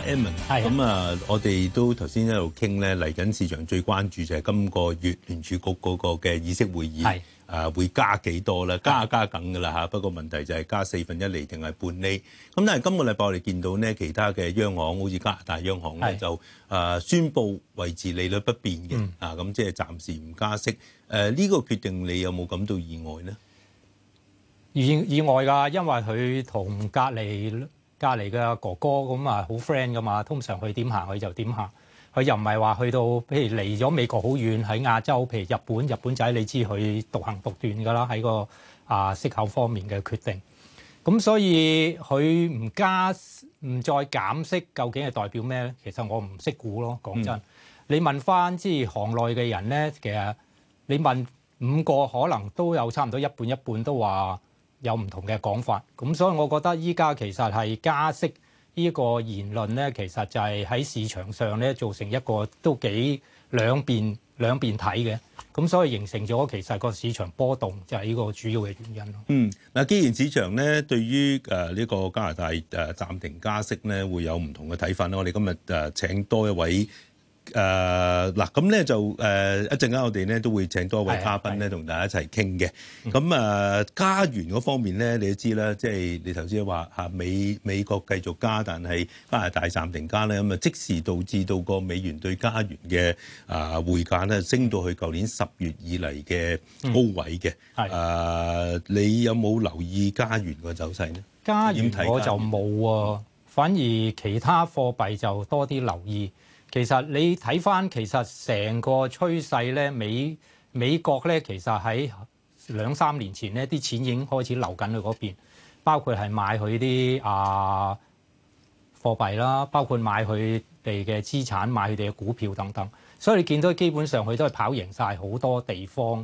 Edmund，咁啊，我哋都頭先一路傾咧，嚟緊市場最關注就係今個月聯儲局嗰個嘅議息會議，會加幾多啦？加緊㗎啦嚇。不過問題就係加1/4厘定係半厘。咁但係今個禮拜我哋見到呢，其他嘅央行好似加拿大央行咧就宣布維持利率不變嘅，咁即係暫時唔加息。呢個決定你有冇感到意外呢？ 意外㗎，因為佢同隔離嘅哥哥咁啊，好 friend 㗎嘛。通常佢點行佢就點行，佢又唔係話去到譬如離咗美國好遠喺亞洲，譬如日本仔，你知佢獨行獨斷㗎啦，喺個息口方面嘅決定。咁所以佢唔再減息，究竟係代表咩咧？其實我唔識估咯，講真。你問翻即係行內嘅人咧，其實你問5個可能都有差唔多一半都話有唔同嘅講法，咁所以我覺得依家其實係加息呢個言論咧，其實就係喺市場上咧造成一個都幾兩邊睇嘅，咁所以形成咗其實個市場波動就係呢個主要嘅原因咯。 嗱，既然市場咧對於呢個加拿大暫停加息咧會有唔同嘅睇法咧，我哋今日請多一位。咁咧就一陣間我哋咧都會請多一位嘉賓咧同大家一齊傾嘅。咁加元嗰方面咧，你都知啦，即係你頭先話美國繼續加，但係加拿大暫停加咧，咁啊即時導致到個美元對加元嘅匯價咧升到去舊年10月以嚟嘅高位嘅。你有冇留意加元個走勢呢？ 加元我就冇喎，反而其他貨幣就多啲留意。其實你睇翻，其實成個趨勢咧，美國咧，其實喺2-3年前呢啲錢已經開始流緊去嗰邊，包括係買佢啲貨幣啦，包括買佢哋嘅資產、買佢哋嘅股票等等。所以你見到基本上佢都係跑贏晒好多地方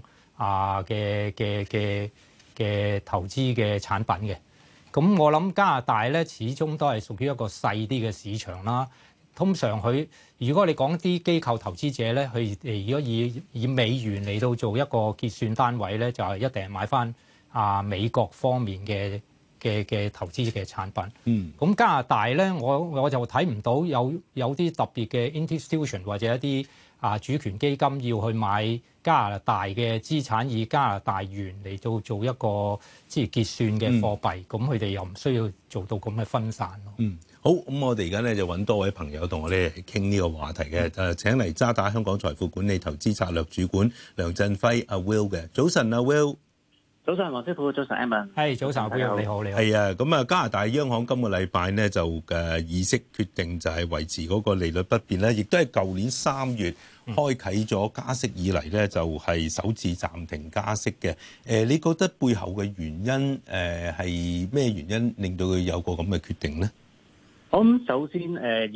嘅投資嘅產品嘅。咁我諗加拿大咧，始終都係屬於一個細啲嘅市場啦。通常如果你講啲機構投資者咧，佢如果以美元嚟到做一個結算單位咧，就係一定係買翻美國方面嘅投資嘅產品。咁加拿大咧，我就睇唔到有啲特別嘅 institution 或者一啲主權基金要去買加拿大嘅資產，以加拿大元嚟到做一個即係結算嘅貨幣。咁佢哋又唔需要做到咁嘅分散咯。 好，咁我哋而家咧就揾多位朋友同我哋傾呢個話題嘅，請嚟渣打香港財富管理投資策略主管梁振輝阿 Will 嘅。早晨阿 Will。 早晨黃師傅，早晨 Emma。 係早晨 Will，你好。 係啊，咁啊加拿大央行今個禮拜呢就議息決定就係維持嗰個利率不變咧，亦都係舊年3月開啓咗加息以嚟咧就係首次暫停加息嘅。你覺得背後嘅原因係咩原因令到佢有個咁嘅決定呢？ 咁首先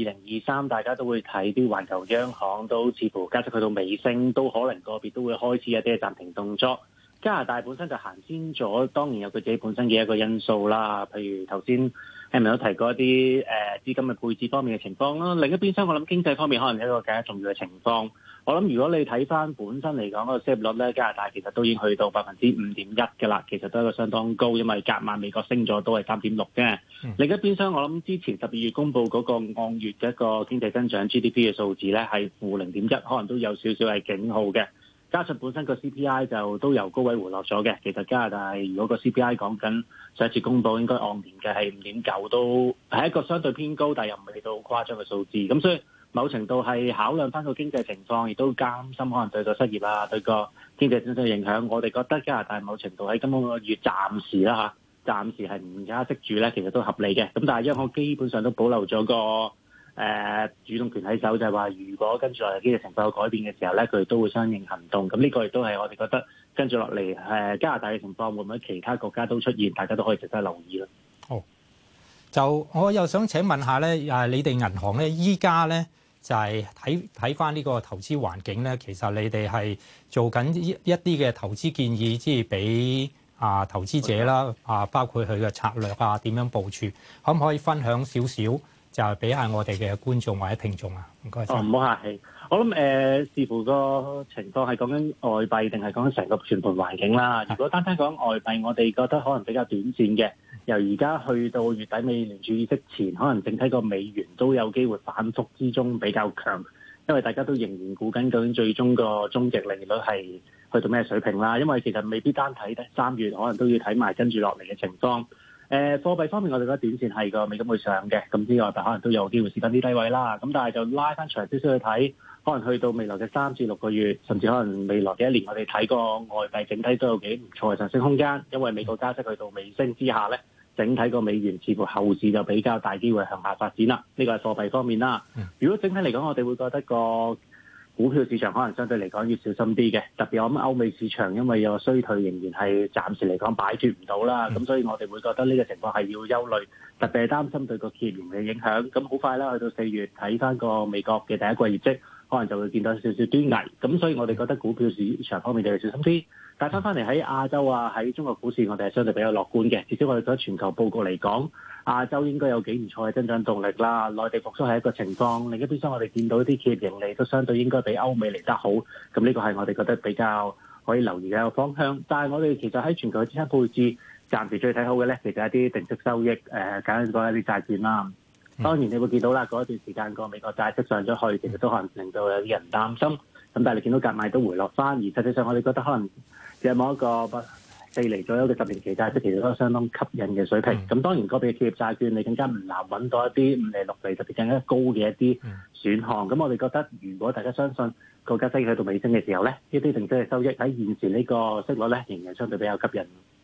2023大家都會睇啲環球央行都似乎加息去到尾聲，都可能個別都會開始一啲暫停動作。加拿大本身就行先咗，當然有佢自己本身嘅一個因素啦。譬如頭先係咪都提過一啲資金嘅配置方面嘅情況啦。另一邊廂我諗經濟方面可能係一個更加重要嘅情況。我諗如果你睇翻本身嚟講嗰個失業率咧，加拿大其實都已經去到5.1%㗎啦，其實都係一個相當高，因為隔晚美國升咗都係3.6嘅。另一邊廂我諗之前12月公布嗰個按月嘅一個經濟增長 GDP 嘅數字咧係-0.1%，可能都有少少係警號嘅。加上本身個 CPI 就都由高位回落咗嘅，其實加拿大如果個 CPI 講緊上一次公佈應該按年嘅係5.9，都係一個相對偏高，但係又唔係到好誇張嘅數字。咁所以某程度係考量翻個經濟情況，亦都擔心可能對個失業啊、對個經濟增長影響。我哋覺得加拿大某程度喺今個月暫時係唔加息住咧，其實都合理嘅。咁但係央行基本上都保留咗個主動權喺手，就係話如果跟住落嚟經濟情況有改變嘅時候咧，佢哋都會相應行動。咁呢個亦都係我哋覺得跟住落嚟加拿大嘅情況會唔會喺其他國家都出現，大家都可以值得留意咯。 就我又想請問下咧，你哋銀行咧依家咧就係睇翻呢個投資環境咧，其實你哋係做緊一啲嘅投資建議，即係俾投資者啦，包括佢嘅策略點樣部署，可唔可以分享少少？就係俾下我哋嘅觀眾或者聽眾啊，唔該。 唔好客氣。我諗視乎個情況係講緊外幣定係講緊成個全盤環境啦。如果單講外幣，我哋覺得可能比較短線嘅， 由而家去到月底美聯儲議息前，可能整體個美元都有機會反覆之中比較強，因為大家都仍然估緊究竟最終個終極利率係去到咩水平啦。因為其實未必單睇3月，可能都要睇埋跟住落嚟嘅情況。貨幣方面，我哋覺得短線係個美金會上嘅，咁之外可能都有機會試翻啲低位啦。咁但係就拉翻長少少去睇，可能去到未來嘅3至6個月，甚至可能未來嘅1年，我哋睇個外幣整體都有幾唔錯嘅上升空間。因為美國加息去到尾聲之下咧，整體個美元似乎後市就比較大機會向下發展啦。呢個係貨幣方面啦。如果整體嚟講，我哋會覺得個股票市場可能相對嚟講要小心啲嘅，特別我諗歐美市場因為有衰退，仍然係暫時嚟講擺脫唔到啦，咁所以我哋會覺得呢個情況係要憂慮，特別係擔心對個企業嘅影響。咁好快啦，去到4月睇翻個美國嘅第一季業績，可能就會見到少少端倪。咁所以我哋覺得股票市場方面就要小心啲。但係翻嚟喺亞洲啊，喺中國股市，我哋係相對比較樂觀嘅。至少我哋覺得全球報告嚟講，亞洲應該有幾唔錯嘅增長動力啦。內地復甦係一個情況，另一邊廂我哋見到啲企業盈利都相對應該比歐美嚟得好。咁呢個係我哋覺得比較可以留意嘅一個方向。但係我哋其實喺全球嘅資產配置，暫時最睇好嘅咧，其實係一啲定息收益，簡單講一啲債券啦。當然你會見到啦，嗰一段時間個美國債息上咗去，其實都可能令到有啲人擔心。咁但係你見到夾買都回落翻，而實際上我哋覺得可能有冇一個4厘左右嘅10年期債息，其實都係相當吸引嘅水平。咁當然個別企業債券你更加唔難揾到一啲5厘、6厘特別更加高嘅一啲選項。咁我哋覺得，如果大家相信個加息去到尾聲嘅時候咧，呢啲定息嘅收益喺現時呢個息率咧，仍然相對比較吸引。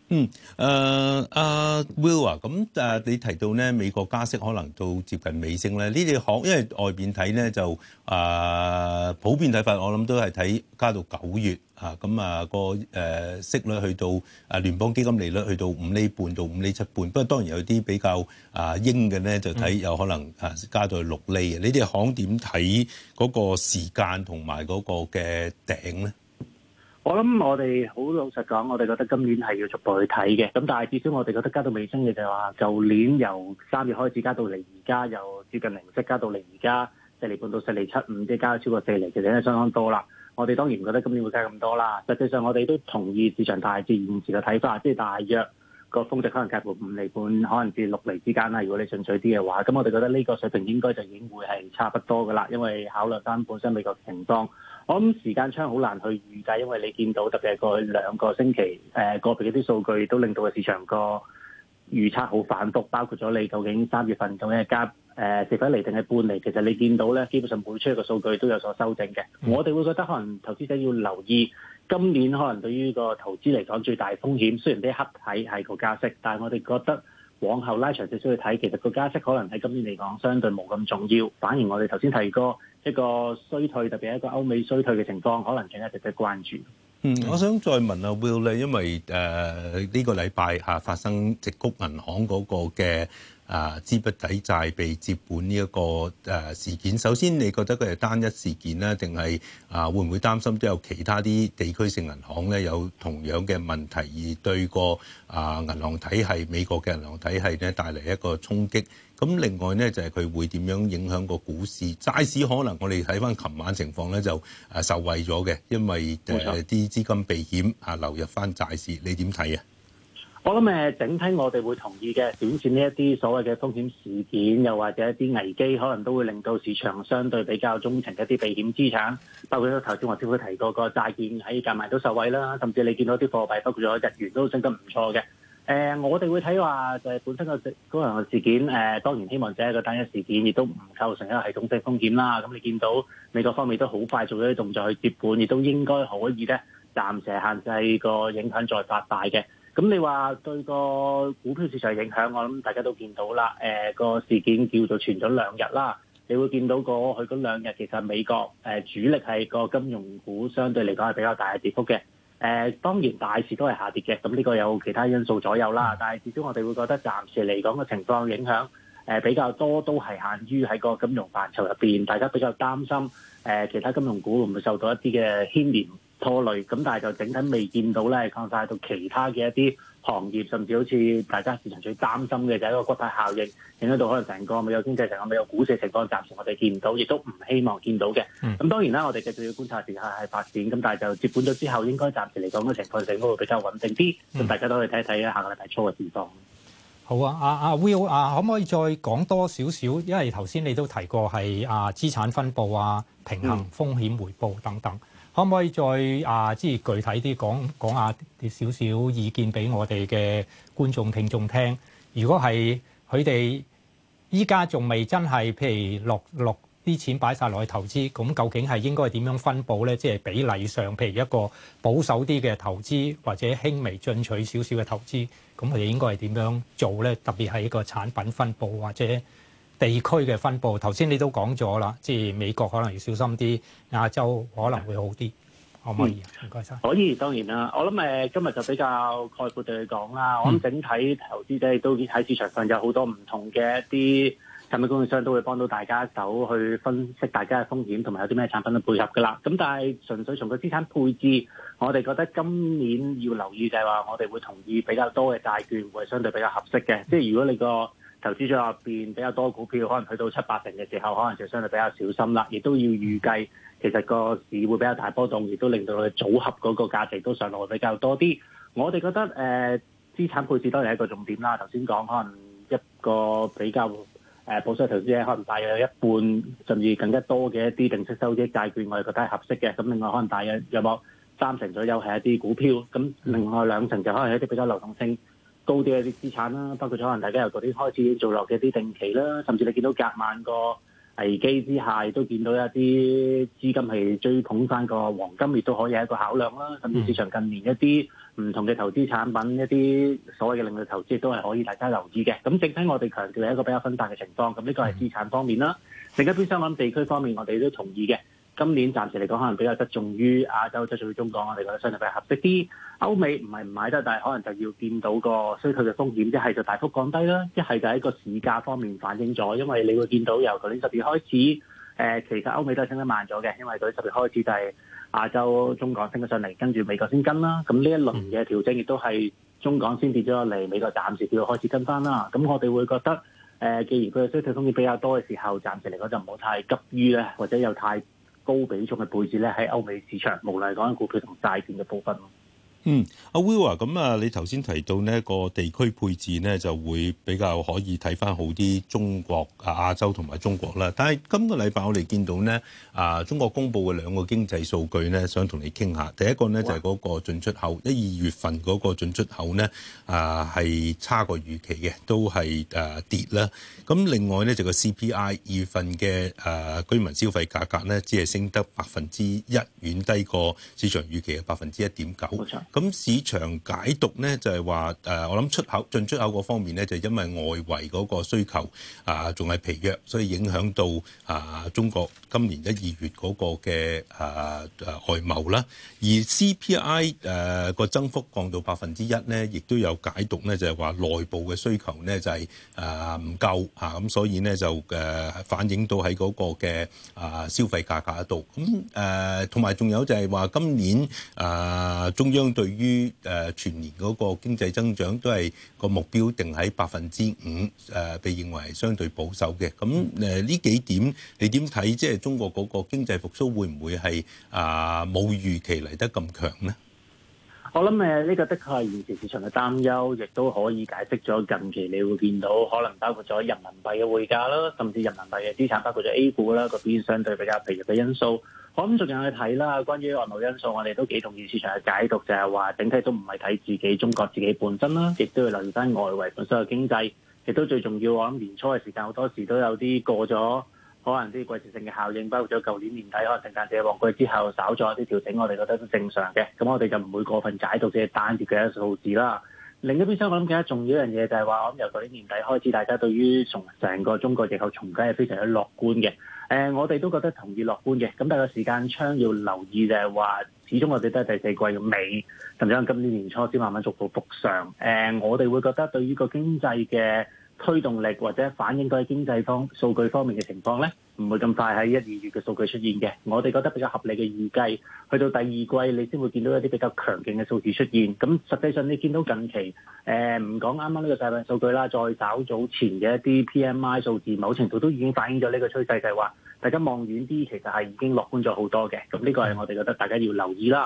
Will 啊，咁你提到咧美國加息可能到接近尾聲咧，呢啲行因為外邊睇咧就普遍睇法，我諗都係睇加到9月個息率去到聯邦基金利率去到5厘半到5厘7半，不過當然有啲比較鷹嘅咧就睇有可能加到6厘嘅。呢啲行點睇嗰個時間同埋嗰個嘅頂咧？ 我諗我哋好老實講，我哋覺得今年係要逐步去睇嘅。咁但係至少我哋覺得加到尾聲嘅就係話，舊年由3月開始加到嚟而家，由接近零息加到嚟而家4厘半到4厘75，即係加咗超過4厘，其實係相當多啦。我哋當然唔覺得今年會加咁多啦。實際上我哋都同意市場大致現時嘅睇法，即係大約個峰值可能介乎5厘半，可能至6厘之間啦。如果你進取啲嘅話，咁我哋覺得呢個水平應該就已經會係差不多噶啦。因為考慮翻本身美國情況。我諗時間窗好難去預計，因為你見到特別係過去2個星期，個別嘅啲數據都令到個市場個預測好反覆，包括咗你究竟3月份究竟係加4分一厘定係半厘，其實你見到咧，基本上每出一個數據都有所修正嘅。我哋會覺得可能投資者要留意，今年可能對於個投資嚟講最大風險，雖然呢一刻睇係個加息，但係我哋覺得往後拉長少少去睇，其實個加息可能喺今年嚟講相對冇咁重要，反而我哋頭先提過一個衰退，特別係一個歐美衰退嘅情況，可能更加值得關注。 我想再問阿 Will 咧，因為呢個禮拜發生矽谷銀行嗰個嘅資不抵債被接管呢一個事件，首先你覺得佢係單一事件咧，定係會唔會擔心都有其他啲地區性銀行咧有同樣嘅問題，而對個銀行體系美國嘅銀行體系咧帶嚟一個衝擊？咁另外咧就係佢會點樣影響個股市？債市可能我哋睇翻琴晚情況咧就受惠咗嘅，因為啲資金避險流入翻債市，你點睇啊？ 我諗整體我哋會同意嘅，短線呢一啲所謂嘅風險事件，又或者一啲危機，可能都會令到市場相對比較鍾情一啲避險資產，包括咗頭先我師傅提過個債券喺夾埋都受惠啦，甚至你見到啲貨幣，包括咗日元都升得唔錯嘅。我哋會睇話就係本身個嗰個事件，當然希望只係一個單一事件，亦都唔構成一個系統性風險啦。咁你見到美國方面都好快做咗啲動作去接管，亦都應該可以咧暫時限制個影響再發大嘅。咁你話對個股票市場影響，我諗大家都見到啦。個事件叫做傳咗2日啦，你會見到過去嗰2日其實美國主力係個金融股，相對嚟講係比較大嘅跌幅嘅。當然大市都係下跌嘅，咁呢個有其他因素左右啦。但係至少我哋會覺得暫時嚟講嘅情況影響比較多，都係限於喺個金融範疇入邊，大家比較擔心其他金融股會唔會受到一啲嘅牽連拖累。咁但係就整體未見到咧擴大到其他嘅一啲行業，甚至好似大家市場最擔心嘅就係一個骨牌效應，影響到可能成個美國經濟、成個美國股市情況，暫時我哋見唔到，亦都唔希望見到嘅。咁當然啦，我哋繼續要觀察住係發展。咁但係就接管咗之後，應該暫時嚟講嘅情況應該會比較穩定啲。咁大家都可以睇一睇下個禮拜初嘅情況。 好啊，Will 可唔可以再講多少少？因為頭先你都提過係資產分佈平衡風險回報等等，可唔可以再即係具體啲講下少少意見俾我哋嘅觀眾聽眾聽？如果係佢哋依家仲未真係譬如落啲錢擺晒落去投資，咁究竟係應該點樣分佈咧？即係比例上，譬如一個保守啲嘅投資，或者輕微進取少少嘅投資，咁佢哋應該係點樣做咧？特別係一個產品分佈或者地區嘅分佈。頭先你都講咗啦，即係美國可能要小心啲，亞洲可能會好啲，可唔可以？唔該晒。 可以，當然啦。我諗今日就比較概括地去講啦。我諗整體投資者都喺市場上有好多唔同嘅一啲產品供應商都會幫到大家手去分析大家嘅風險，同埋有啲咩產品去配合㗎啦。咁但係純粹從個資產配置，我哋覺得今年要留意就係話，我哋會同意比較多嘅債券會相對比較合適嘅。即係如果你個投資組入邊比較多股票，可能去到7-8成嘅時候，可能就相對比較小心啦。亦都要預計其實個市會比較大波動，亦都令到佢組合嗰個價值都上落比較多啲。我哋覺得資產配置當然係一個重點啦。頭先講可能一個比較保守投資者可能大約有一半甚至更加多嘅一啲定息收益債券，我哋覺得係合適嘅。咁另外可能大約有冇3成左右係一啲股票，咁另外2成就可能係一啲比較流動性高啲嘅一啲資產啦，包括咗可能大家由嗰啲開始做落嘅一啲定期啦，甚至你見到隔晚個危機之下，都見到一啲資金係追捧翻個黃金，亦都可以係一個考量啦。甚至市場近年一啲唔同嘅投資產品，一啲所謂嘅另類投資，都係可以大家留意嘅。咁整體我哋強調係一個比較分散嘅情況，咁呢個係資產方面啦。另一邊廂我諗地區方面，我哋都同意嘅。今年暫時嚟講，可能比較側重於亞洲，側重於中國，我哋覺得相對比較合適啲。歐美唔係唔買得，但係可能就要見到個衰退嘅風險，一係就大幅降低啦，一係就喺個市價方面反映咗。因為你會見到由舊年10月開始，其實歐美都係升得慢咗嘅，因為舊年10月開始就係亞洲、中港升咗上嚟，跟住美國先跟啦。咁呢一輪嘅調整亦都係中港先跌咗落嚟，美國暫時要開始跟翻啦。咁我哋會覺得，既然佢嘅衰退風險比較多嘅時候，暫時嚟講就唔好太急於咧，或者有太高比重嘅配置咧喺歐美市場，無論係講緊股票同債券嘅部分。 阿 Will 啊，咁你頭先提到呢個地區配置呢，就會比較可以睇翻好啲中國亞洲同埋中國啦。但係今個禮拜我哋見到呢，中國公布嘅2個經濟數據呢，想同你傾下。第一個呢，就係嗰個進出口，1-2月份嗰個進出口呢，係差過預期嘅，都係跌啦。咁另外呢，就個 CPI 2月份嘅居民消費價格呢，只係升得1%，遠低過市場預期嘅1.9%。冇錯。咁市場解讀咧就係話我諗進出口嗰方面咧，就因為外圍嗰個需求仲係疲弱，所以影響到中國今年1-2月嗰個嘅外貿啦。而 CPI 個增幅降到1%咧，亦都有解讀咧，就係話內部嘅需求咧就係唔夠咁，所以咧就反映到喺嗰個嘅消費價格度。咁同埋仲有就係話今年中央對於全年嗰個經濟增長都係個目標定喺5%，被認為係相對保守嘅。咁呢幾點你點睇？即係中國嗰個經濟復甦會唔會係冇預期嚟得咁強呢？ 我諗呢個的確係現時市場嘅擔憂，亦都可以解釋咗近期你會見到可能包括咗人民幣嘅匯價啦，甚至人民幣嘅資產包括咗 A 股啦，個表現相對比較疲弱嘅因素。我諗仲有去睇啦，關於外貿因素，我哋都幾同意市場嘅解讀，就係話整體都唔係睇自己中國自己本身啦，亦都要留意翻外圍本身嘅經濟，亦都最重要。我諗年初嘅時間好多時都有啲過咗，可能啲季節性嘅效應，包括咗舊年年底可能聖誕節旺季之後稍作一啲調整，我哋覺得都正常嘅。咁我哋就唔會過分解讀即係單節嘅一數字啦。另一邊廂，我諗更加重要一樣嘢就係話，我諗由舊年年底開始，大家對於從成個中國疫後重啟係非常之樂觀嘅。我哋都覺得同意樂觀嘅。咁但係個時間窗要留意就係話，始終我哋都係第四季嘅尾，甚至今年年初先慢慢逐步復上。我哋會覺得對於個經濟嘅推動力或者反映到喺經濟數據方面嘅情況咧，唔會咁快喺1-2月嘅數據出現嘅。我哋覺得比較合理嘅預計，去到第二季你先會見到一啲比較強勁嘅數字出現。咁實際上你見到近期唔講啱啱呢個世衛數據啦，再找早前嘅一啲 PMI 數字，某程度都已經反映咗呢個趨勢，就係話大家望遠啲，其實係已經樂觀咗好多嘅。咁呢個係我哋覺得大家要留意啦。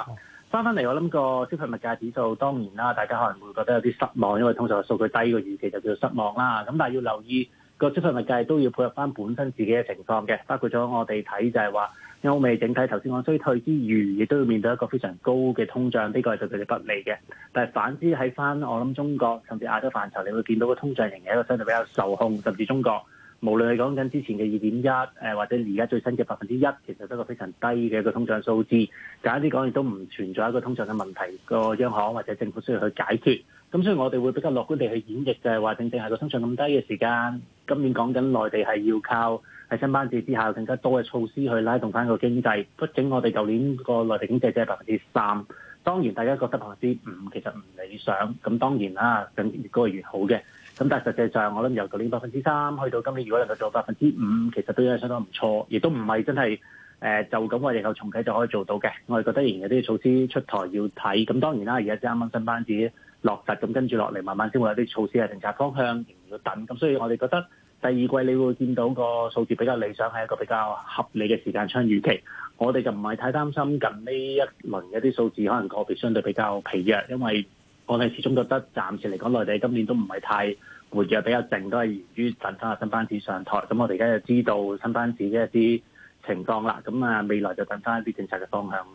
翻嚟，我諗個消費物價指數當然啦，大家可能會覺得有啲失望，因為通常數據低個預期就叫做失望啦。咁但係要留意個消費物價都要配合翻本身自己嘅情況嘅，包括咗我哋睇就係話，因為歐美整體頭先講衰退之餘，亦都要面對一個非常高嘅通脹，呢個係對佢哋不利嘅。但係反之喺翻我諗中國甚至亞洲範疇，你會見到個通脹仍然係一個相對比較受控，甚至中國。無論係講緊之前嘅2.1，或者而家最新嘅1%，其實都係一個非常低嘅一個通脹數字。簡單啲講，亦都唔存在一個通脹嘅問題，個央行或者政府需要去解決。咁所以我哋會比較樂觀地去演繹，就係話正正係個通脹咁低嘅時間，今年講緊內地係要靠喺新班子之下有更加多嘅措施去拉動翻個經濟。畢竟我哋舊年個內地經濟只係3%，當然大家覺得5%其實唔理想。咁當然啦，咁越高越好嘅。咁但係實際上，我諗由舊年3%去到今年，如果能夠做5%，其實都已經相當唔錯，亦都唔係真係就咁我哋有重啟就可以做到嘅。我哋覺得仍然有啲措施出台要睇。咁當然啦，而家啱啱新班子落實，咁跟住落嚟慢慢先會有啲措施嘅政策方向，仍然要等。咁所以我哋覺得第二季你會見到個數字比較理想，係一個比較合理嘅時間窗預期。我哋就唔係太擔心近呢一輪嘅啲數字可能個別相對比較疲弱，因為我哋始終覺得暫時嚟講，內地今年都唔係太活躍，比較靜，都係源於等翻新班子上台。咁我哋而家就知道新班子嘅一啲情況啦。咁未來就等翻一啲政策嘅方向。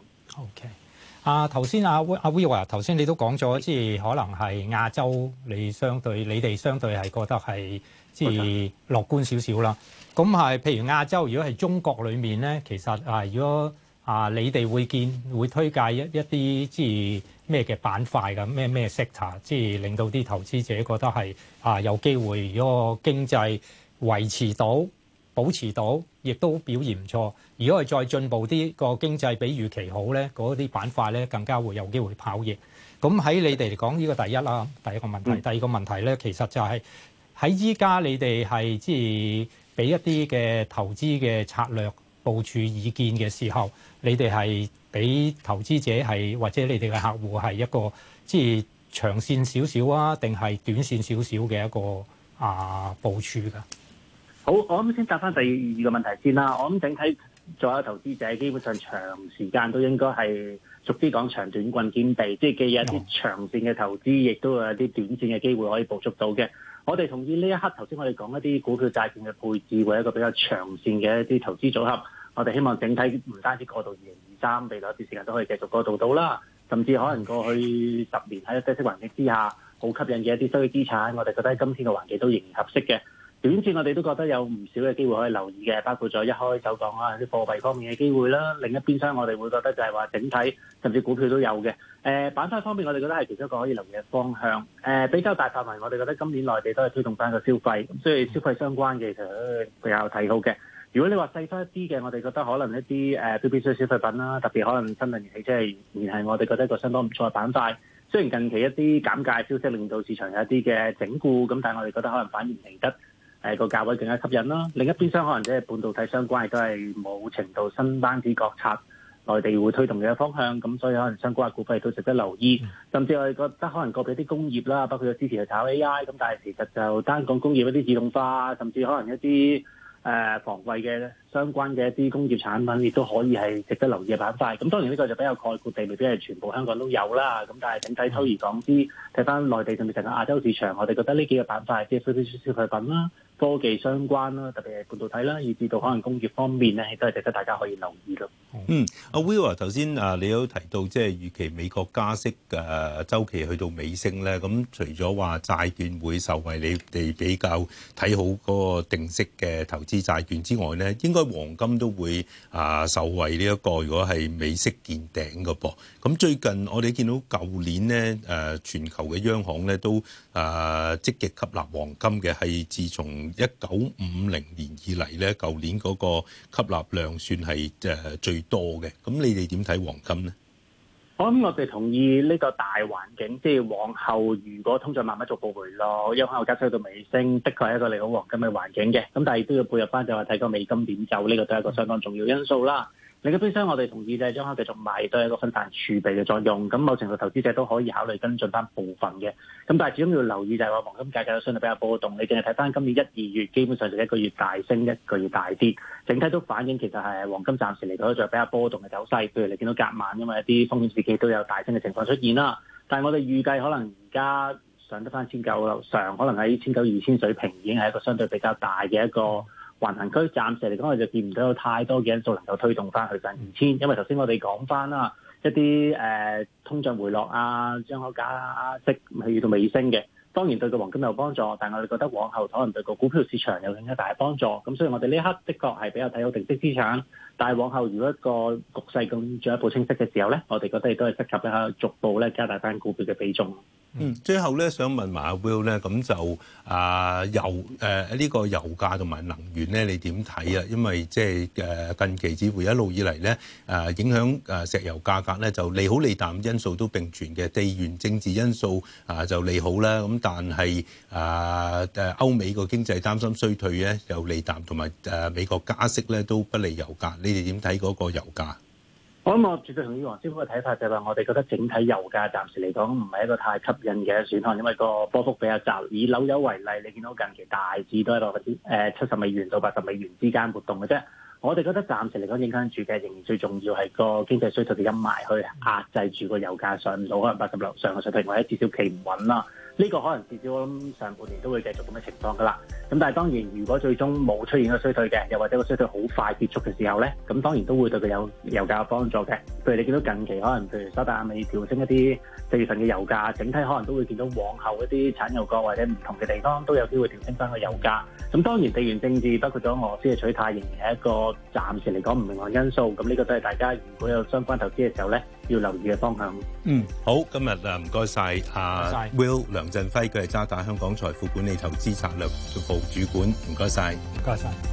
OK。頭先阿 Will 啊，頭先你都講咗，即係可能係亞洲你哋相對係覺得係即係樂觀少少啦。咁係譬如亞洲，如果係中國裡面咧，其實如果你哋會推介一啲即係咩嘅板塊㗎？咩 sector， 即係令到啲投資者覺得係有機會，如果經濟維持到、保持到，亦都表現唔錯。如果係再進步啲，個經濟比預期好咧，嗰啲板塊咧更加會有機會跑贏。咁喺你哋嚟講，呢個第一啦，第一個問題。第二個問題咧，其實就係喺依家你哋係即係俾一啲嘅投資嘅策略部署意見嘅時候，你哋係俾投資者係或者你哋嘅客戶係一個即係長線少少啊，定係短線少少嘅一個部署㗎？ 好，我諗先答翻第二個問題先啦。我諗整體作為投資者，基本上長時間都應該係逐啲講長短棍兼備，即係既有一啲長線嘅投資，亦都有一啲短線嘅機會可以捕捉到嘅。我哋同意呢一刻頭先我哋講一啲股票債券嘅配置，為一個比較長線嘅一啲投資組合。我哋希望整體唔單止過渡2023，未來一段時間都可以繼續過渡到啦。甚至可能過去10年喺低息環境之下，好吸引嘅一啲收益資產，我哋覺得喺今天嘅環境都仍然合適嘅。短線我哋都覺得有唔少嘅機會可以留意嘅，包括咗一開手講啲貨幣方面嘅機會啦。另一邊廂我哋會覺得就係話整體甚至股票都有嘅。板塊方面我哋覺得係其中一個可以留意嘅方向。比較大範圍我哋覺得今年內地都係推動翻個消費，咁所以消費相關嘅其實比較睇好嘅。如果你話細分一啲嘅，我哋覺得可能一啲必須消費品啦，特別可能新能源汽車係仍然係我哋覺得一個相當唔錯嘅板塊。雖然近期一啲減價消息令到市場有一啲嘅整固，咁但係我哋覺得可能反而嚟得個價位更加吸引啦。另一邊廂可能即係半導體相關，亦都係某程度新班子國策內地會推動嘅方向，咁所以可能相關嘅股份都值得留意。甚至我哋覺得可能個別啲工業啦，包括有支持去炒 AI，咁但係其實就單講工業一啲自動化，甚至可能一啲防衛嘅相關嘅一啲工業產品，亦都可以係值得留意嘅板塊。咁當然呢個就比較概括地，未必係全部香港都有啦。咁但係整體推而廣之，睇翻內地甚至成個亞洲市場，我哋覺得呢幾個板塊，即係非必需消費品啦、科技相關啦，特別係半導體啦，以至到可能工業方面咧，亦都係值得大家可以留意咯。 阿 Will 啊，頭先你都提到即係預期美國加息週期去到尾聲咧，咁除咗話債券會受惠，你哋比較睇好嗰個定息嘅投資債券之外咧，應該黃金都會受惠呢一個，如果係美息見頂嘅噃。咁最近我哋見到舊年咧全球嘅央行咧都積極吸納黃金嘅，係自從1950年以嚟咧，舊年嗰個吸納量算係最多嘅。咁你哋點睇黃金呢？ 我諗我哋同意呢個大環境，即係往後如果通脹慢慢逐步回落，央行加息到尾聲，的確係一個利好黃金嘅環境嘅。咁但係亦都要配合翻就係睇個美金點走，呢個都係一個相當重要因素啦。 另一邊廂，我哋同意就係央行繼續買，都係一個分散儲備嘅作用。咁某程度投資者都可以考慮跟進翻部分嘅。咁但係始終要留意就係話黃金價格相對比較波動。你淨係睇翻今年1、2月，基本上就一個月大升，一個月大跌，整體都反映其實係黃金暫時嚟講就係比較波動嘅走勢。譬如你見到隔晚因為一啲風險時期都有大升嘅情況出現啦。但係我哋預計可能而家上得翻1,900樓上，可能喺1,900、2,000水平已經係一個相對比較大嘅一個橫行區。暫時嚟講，我就見唔到有太多嘅因素能夠推動翻去上2,000，因為頭先我哋講翻啦，一啲通脹回落啊，將可加息去到尾聲嘅，當然對個黃金有幫助，但係我哋覺得往後可能對個股票市場有更加大嘅幫助。咁所以我哋呢一刻的確係比較睇好定息資產，但係往後如果個局勢更進一步清晰嘅時候咧，我哋覺得亦都係適合咧逐步咧加大翻股票嘅比重。 最後咧想問埋阿 Will 咧，咁就呢個油價同埋能源咧，你點睇啊？因為即係近期似乎一路以嚟咧影響石油價格咧，就利好利淡因素都並存嘅，地緣政治因素就利好啦。咁但係歐美個經濟擔心衰退咧，又利淡，同埋美國加息咧都不利油價。你哋點睇嗰個油價？ 我諗我絕對同意黃師傅嘅睇法，就係話我哋覺得整體油價暫時嚟講唔係一個太吸引嘅選項，因為個波幅比較窄。以紐油為例，你見到近期大致都喺70美元到80美元之間活動嘅啫。我哋覺得暫時嚟講影響住嘅仍然最重要係個經濟衰退嘅陰霾去壓制住個油價上唔到可能80樓上嘅水平，或者至少企唔穩啦。呢個可能至少我諗上半年都會繼續咁嘅情況㗎啦。咁但係當然，如果最終冇出現個衰退嘅，又或者個衰退好快結束嘅時候咧，咁當然都會對佢有油價有幫助嘅。譬如你見到近期可能譬如沙特阿美調升一啲4月份嘅油價，整體可能都會見到往後一啲產油國或者唔同嘅地方都有機會調升翻個油價。咁當然地緣政治包括咗俄羅斯嘅取態，仍然係一個暫時嚟講唔明朗因素。咁呢個都係大家如果有相關投資嘅時候咧，要留意嘅方向。 好，今日唔該晒阿 Will 梁振輝，佢係渣打香港財富管理投資策略部主管，唔該晒。 唔該晒。